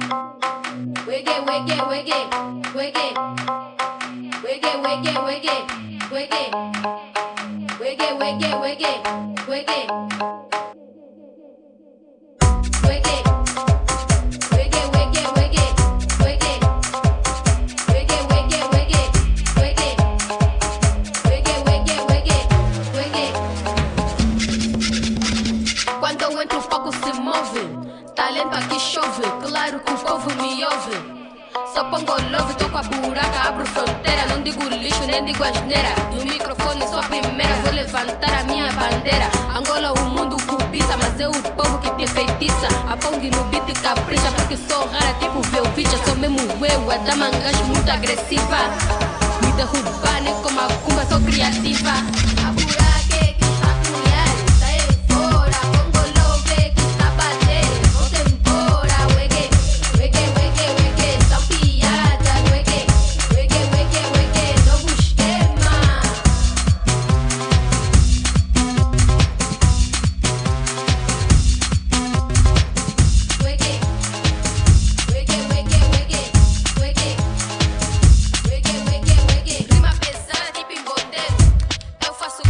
Wiggy, wiggy, wiggy, wiggy. Wiggy, wiggy, wiggy, wiggy. Wiggy, wiggy, wiggy, wiggy. Wiggy. Wiggy, wiggy, wiggy, wiggy. Wiggy, wiggy, wiggy, wiggy. Wiggy, wiggy, wiggy, wiggy. Quando eu entro o fogo se move. Talento aqui chove, claro que o povo me ouve. Só pongo love, toco a buraca, abro fronteira. Não digo lixo, nem digo asneira. No microfone sou a primeira, vou levantar a minha bandeira. Angola o mundo cobiça, mas é o povo que te feitiça. A Pong no beat capricha, porque sou rara tipo Velvicha. Sou mesmo eu, a dama gajo muito agressiva. Me derrubar nem como a cumba, sou criativa. A buraca é que está a colher, sai fora. Pongo love que está a bater, volta embora. Wiggy, wiggy, wiggy, wiggy. São piadas, wiggy, wiggy, wiggy, wiggy. Novo esquema. Wiggy, wiggy, wiggy, wiggy, wiggy. Wiggy, wiggy, wiggy. Rima pesada tipo em boteco. Eu faço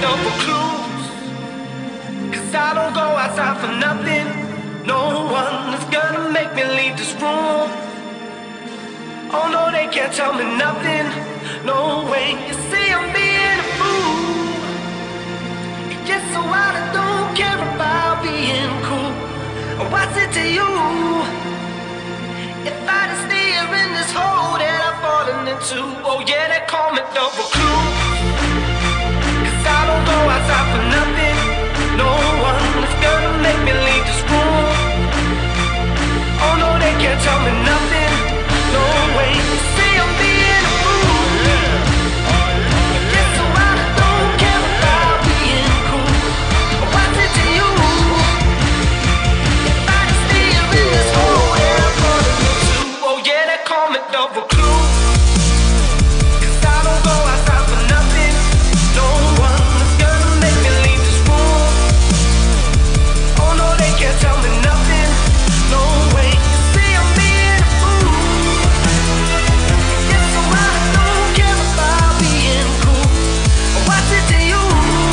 double clues. 'Cause I don't go outside for nothing. No one is gonna make me leave this room. Oh no, they can't tell me nothing. No way, you see I'm being a fool. Yes, so I don't care about being cool. What's it to you? If I just stay here in this hole that I've fallen into. Oh yeah, they call me double clue. 'Cause I don't go outside for nothing. No one is gonna make me leave this room. Oh no, they can't tell me nothing. No way, you see I'm being a fool. Yes, so I don't care about being cool. What's it to you? If I just stay here in this hole that I'm falling into. Oh yeah, they call me double clue. 'Cause I don't go outside for nothing. No one is gonna make me leave this room. Oh no, they can't tell me nothing. No way, you see I'm being a fool. Yes, so I don't care about being cool. What's it to you?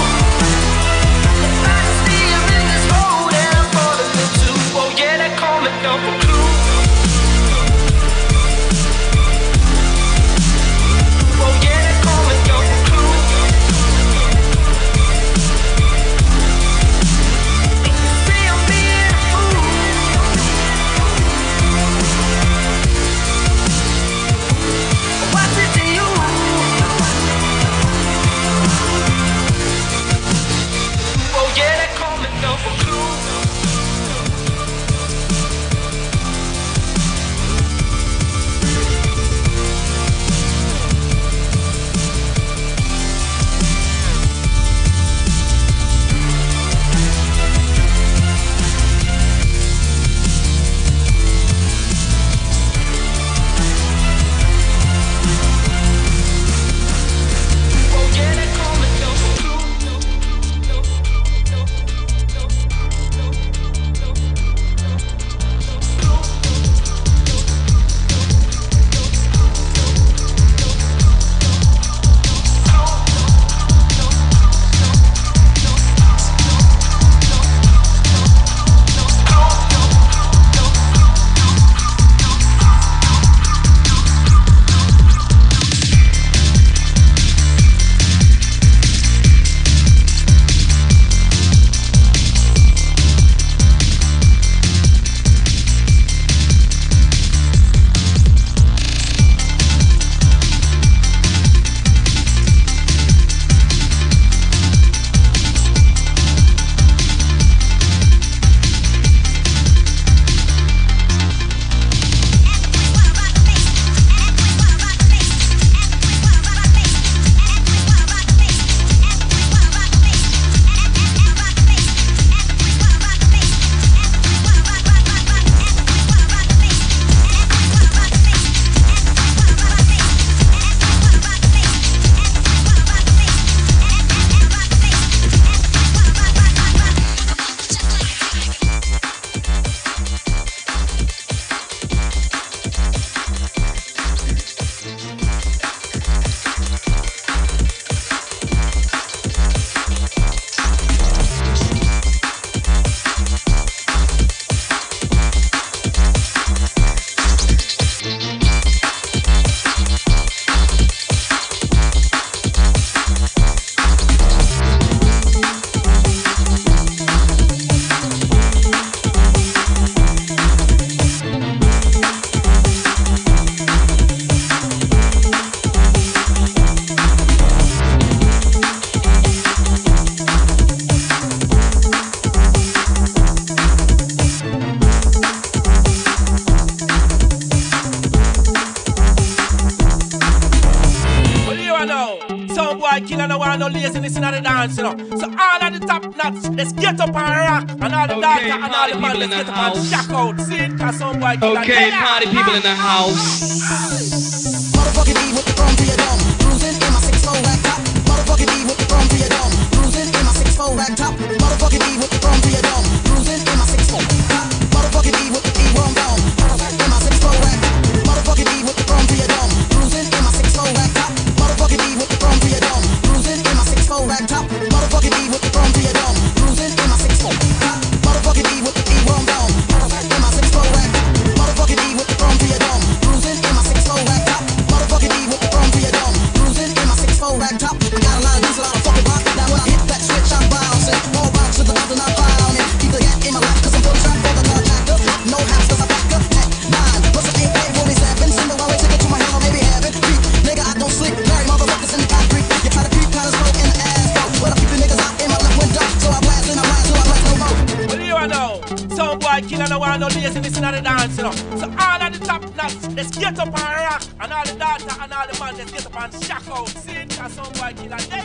If I just stay here in this hole that I'm falling into. Oh yeah, they call me double clue. Oh yeah, they call me double clue. You see I'm being a fool. What's it to you? Oh yeah, they call me double clue. Oh yeah, they call me double clue. killer no want no laziness in the dance, you know. So all of the top nuts, let's get up and rock. And all the darker and all the man, let's get up and shock out. See it, cause some boy killer. Okay, party people in the house. Motherfucking E with the chrome to your dome. Cruising in my 6'4" rack top. Motherfucking E with the chrome to your dome. Cruising in my 6'4" rack top. Motherfucking E with the chrome to your dome. Cruising in my 6'4" top. Motherfucking E with the E-Rome dome. In my 6'4" rack top. Motherfucking E with the chrome to your dome. Cruising in my 6'4" rack top. Motherfucking E with the chrome to your dome. Cruising in my 6'4" rack top. slick, Larry motherfuckers in the concrete. You try to creep, kinda slow in the ass, go. But I keep the niggas out in my left window, so I blast and I blast till I blast no more. Well, you know, some boy killer no want no laziness in the dance, you know. So all of the top nuts, let's get up and rock, and all the daughter and all the man, let's get up and shock out. See it, cause some boy killer, there.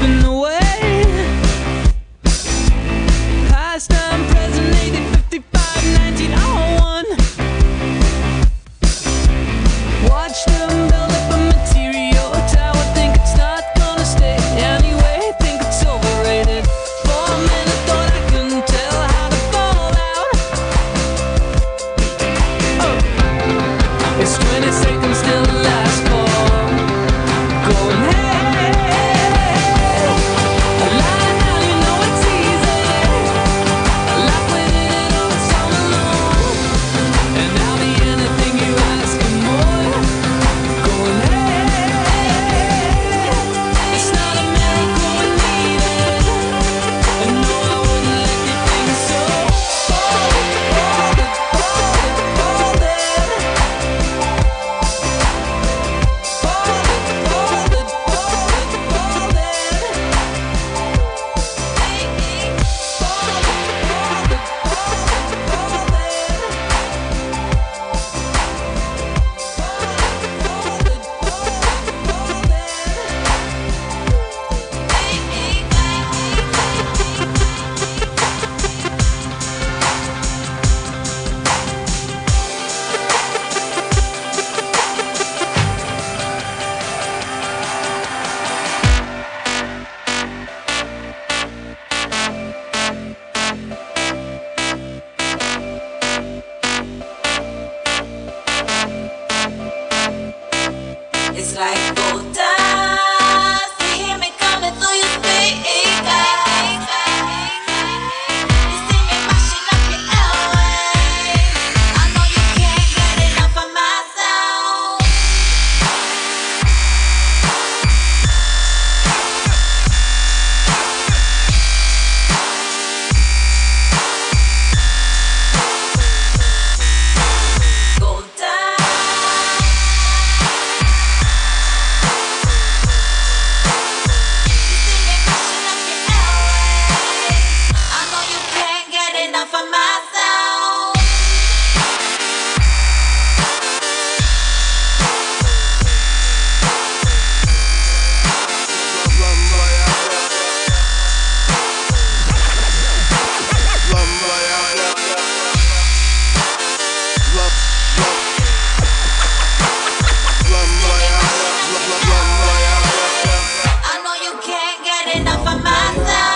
slipping away. Past time, present, 80, 55, 1901. Watch them build up a material tower. Think it's not gonna stay anyway. Think it's overrated. For a minute, thought I couldn't tell how to fall out. Oh, it's 20 seconds till the last call. Going hey, a lie now, you know it's easy. Like we did it all summer long, and I'll be anything you ask and more. Going hey, it's not a miracle we need it, and no, I wouldn't let you think so. Fold it, fold it, fold it, fold it. It's like gold dust. You hear me coming through your speakers. You see me mashing up your airwaves. I know you can't get enough of my sound. Gold dust. For myself, I know you can't get enough of myself.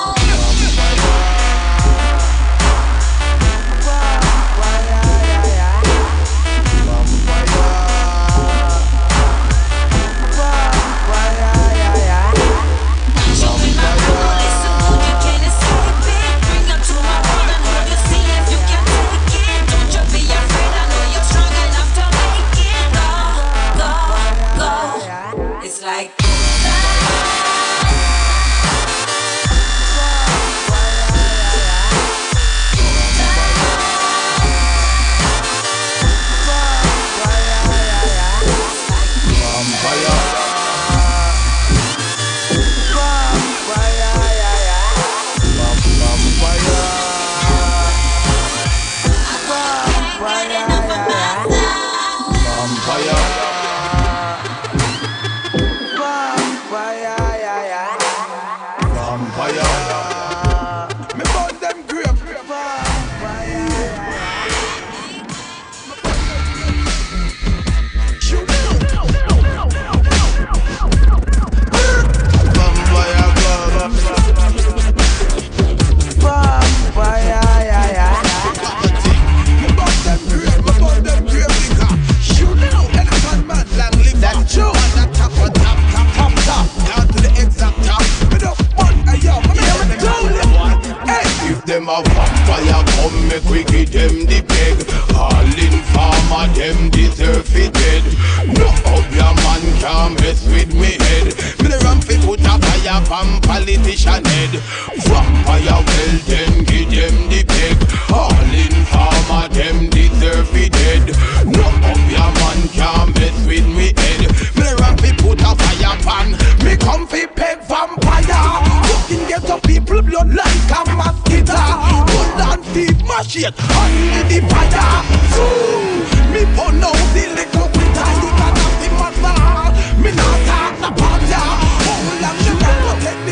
It's like me burn them grave. Them a vampire come make we give them the peg. All in farmer them deserve it dead. No other man can mess with me head. Me the ramp fi put a fire from politician head. Vampire well them give them the peg. All in farmer them deserve it dead. No other man can mess with me head. Me the ramp fi put a fire pan. Me come fi peg vampire. Fucking get up people blood like a mosquito. Put down thief machine under the fire. So me burn out the little quitter. You can have the master. Me not talk about ya. How long you gonna take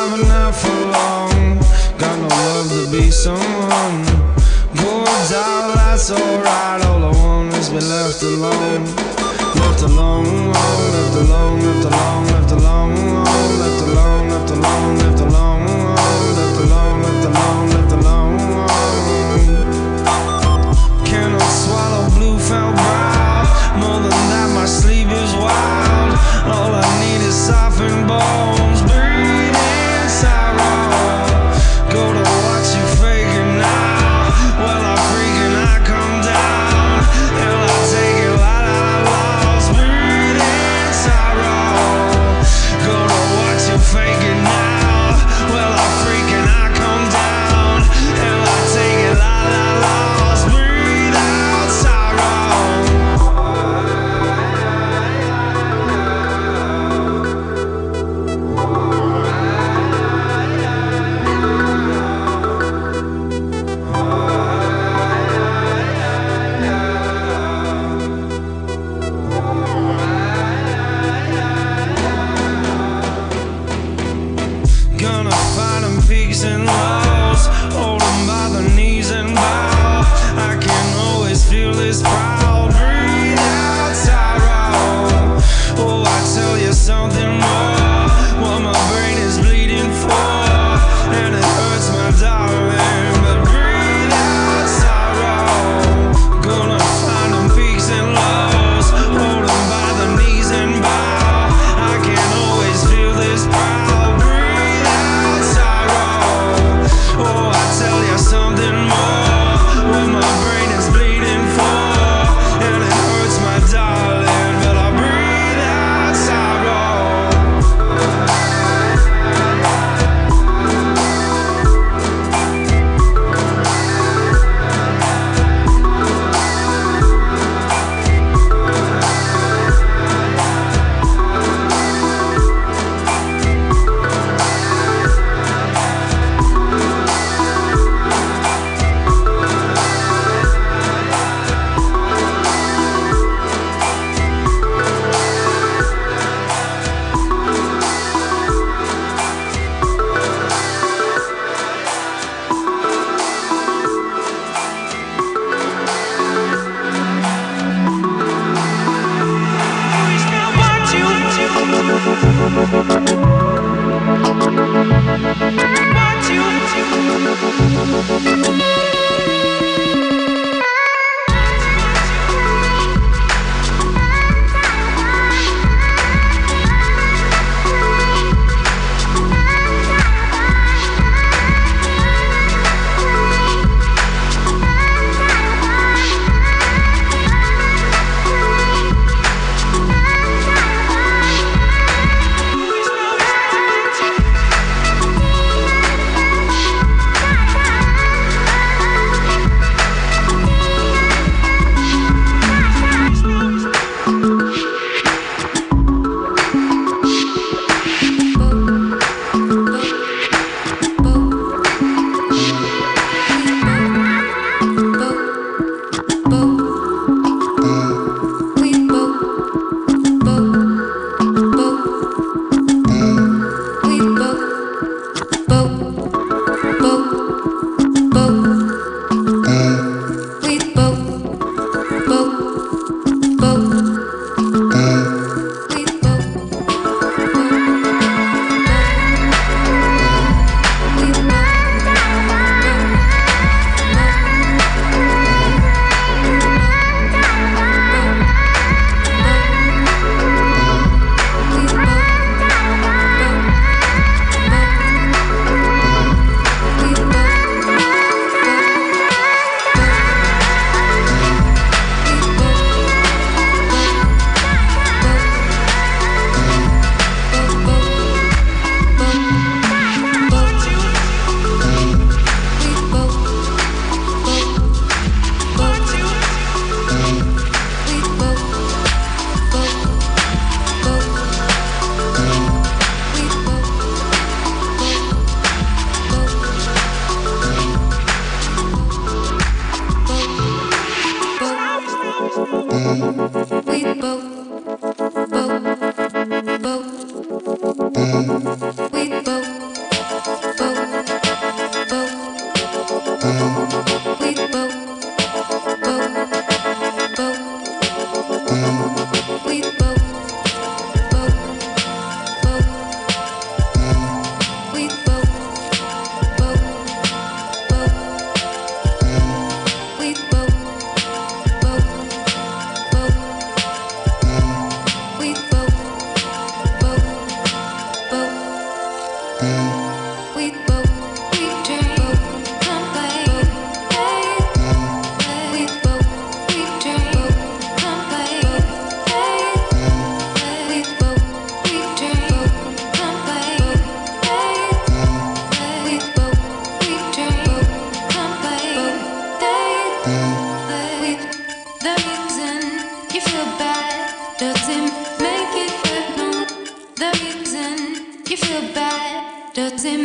but not for long. Got no love to be someone. Poor doll, that's alright. All I want is be left alone. Left alone, left alone, left alone, left alone, left alone, left alone, left alone, left alone, left alone, left alone. Cannot swallow blue felt brow. More than that, my sleep is wild. All I need is softened bones, breathing sorrow. Go to watch you faking now. Well, I freak and I come down. Hell, I take it la la la lost, breathing sorrow. Go to watch you fake.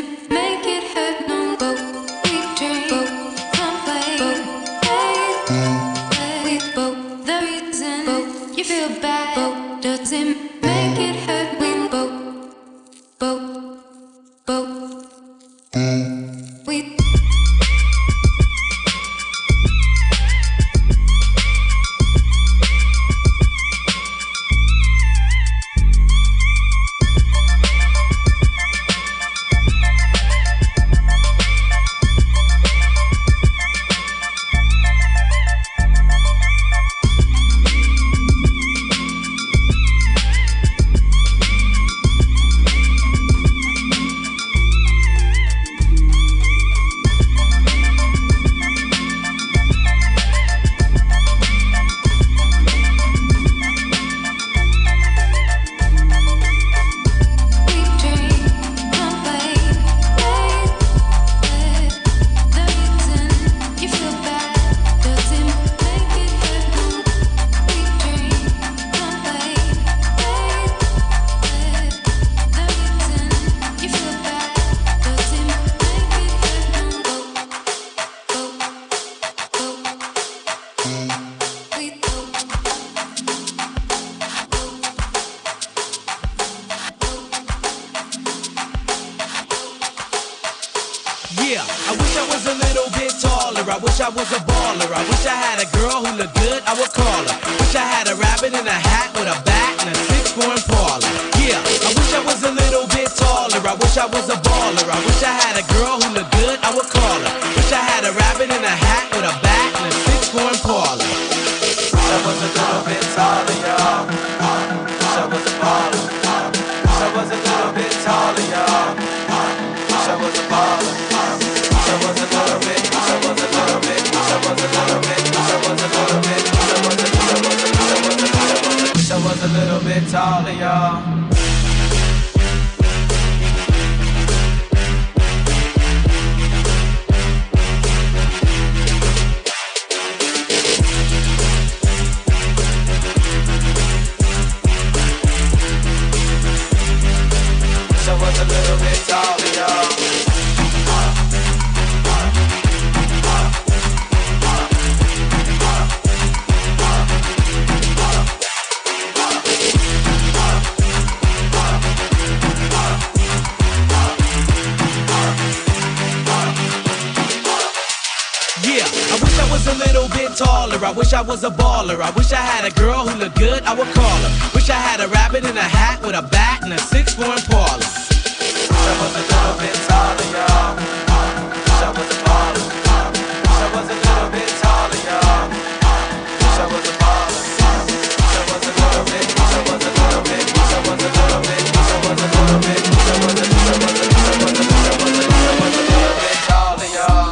make it hurt. No, but we dream, but can't play, but we both the reason, but you feel bad, but doesn't make it hurt. We both, we. Yeah, I wish I was a little bit taller. I wish I was a baller. I wish I had a girl who looked good, I would call her. Wish I had a rabbit in a hat with a bat and a 6'4" Impala. Yeah, I wish I was a little bit taller. I wish I was a baller. I wish I had a girl who looked good, I would call her. Wish I had a rabbit in a hat with a bat and a 6'4" Impala. Wish I was a little bit taller, y'all. Wish I was a baller. Wish I was a little bit taller, y'all. Wish I was a baller. Wish I was a little bit. Wish I was a little bit. Wish I was a little bit. Wish I was a little bit. Wish I was a little bit taller, y'all. I wish I was a baller. I wish I had a girl who looked good, I would call her. Wish I had a rabbit in a hat with a bat and a 6'4" Impala. Wish I was a little bit taller, y'all. Wish I was a baller. Wish I was a little bit taller, y'all. Wish I was a baller. Wish I was a little bit. Wish I was a little bit. Wish I was a little bit. Wish I was a little bit. Wish I was a little bit taller, y'all.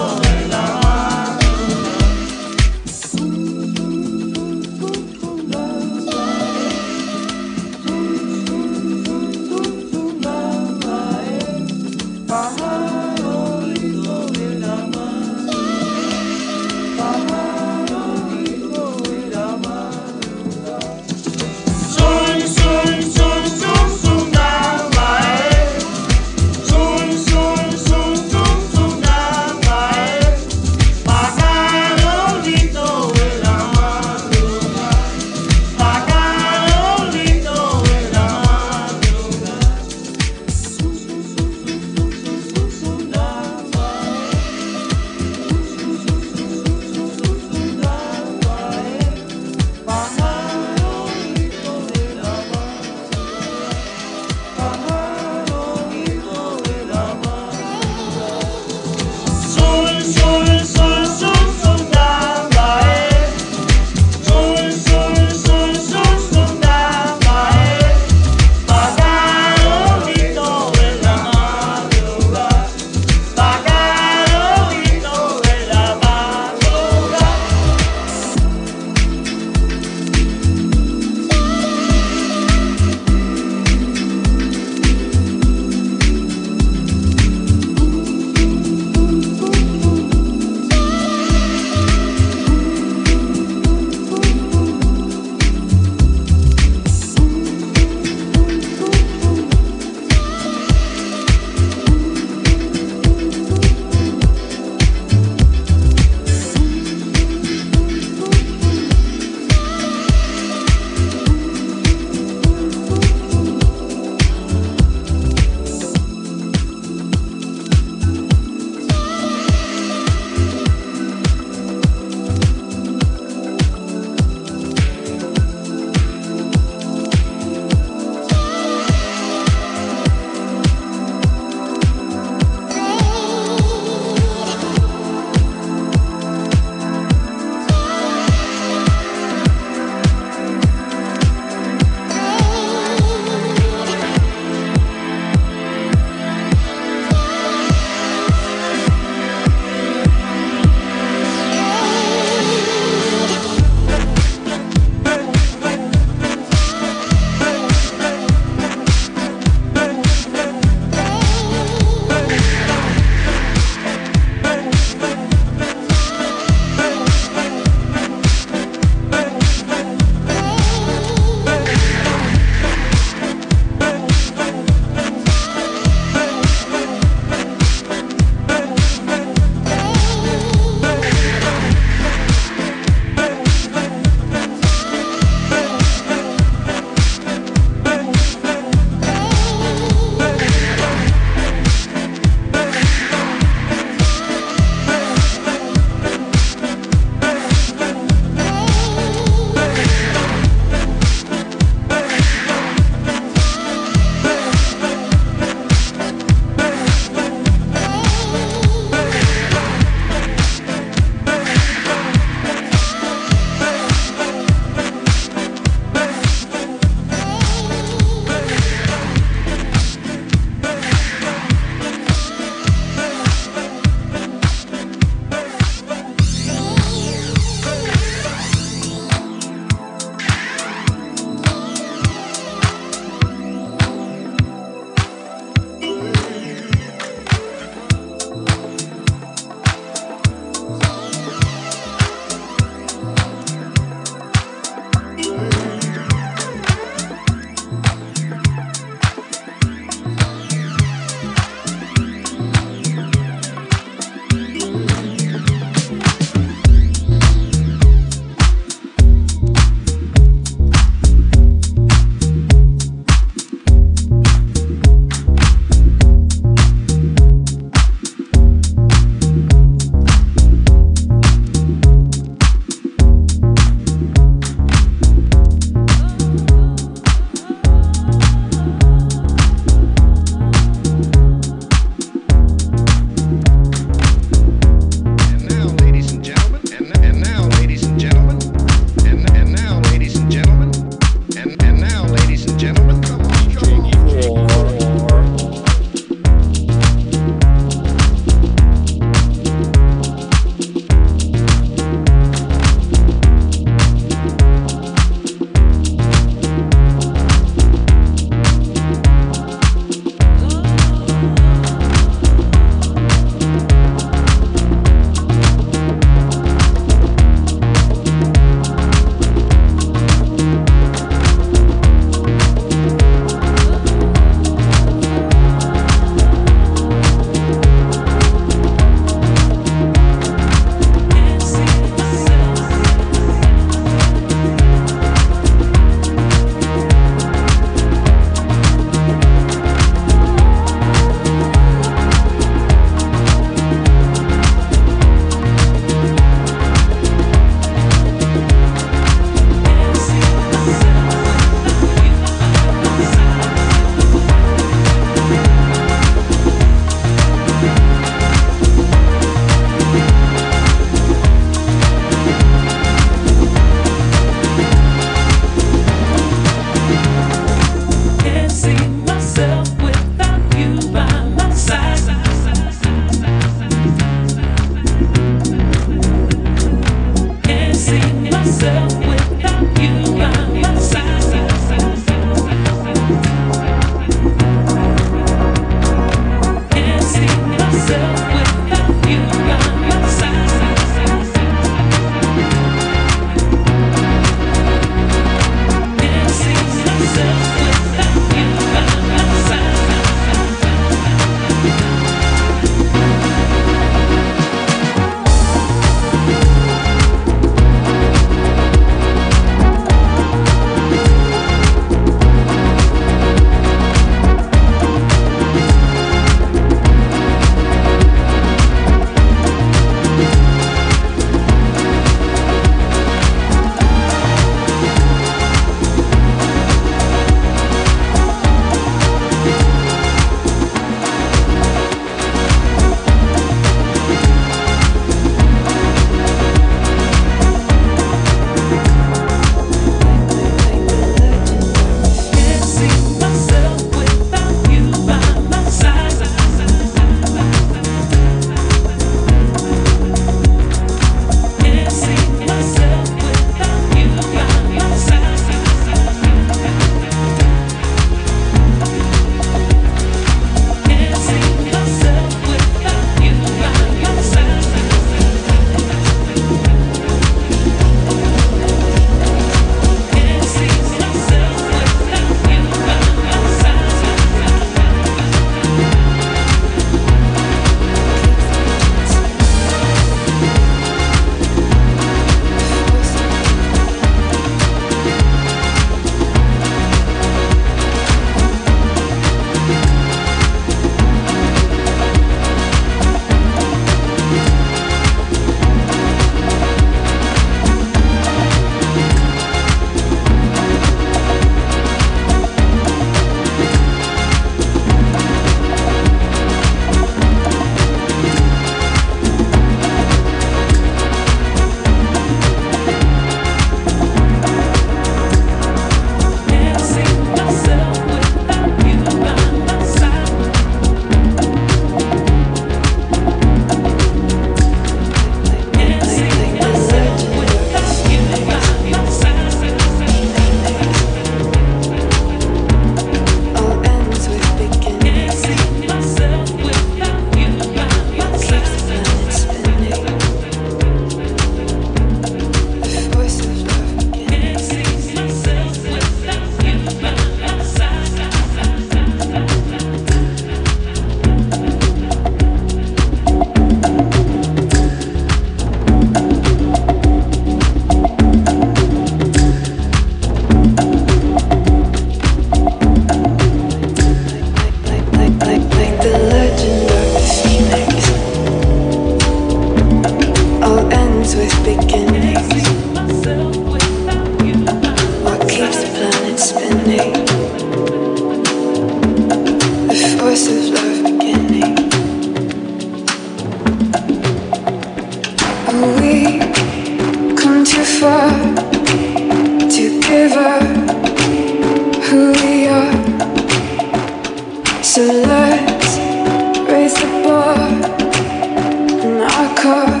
car.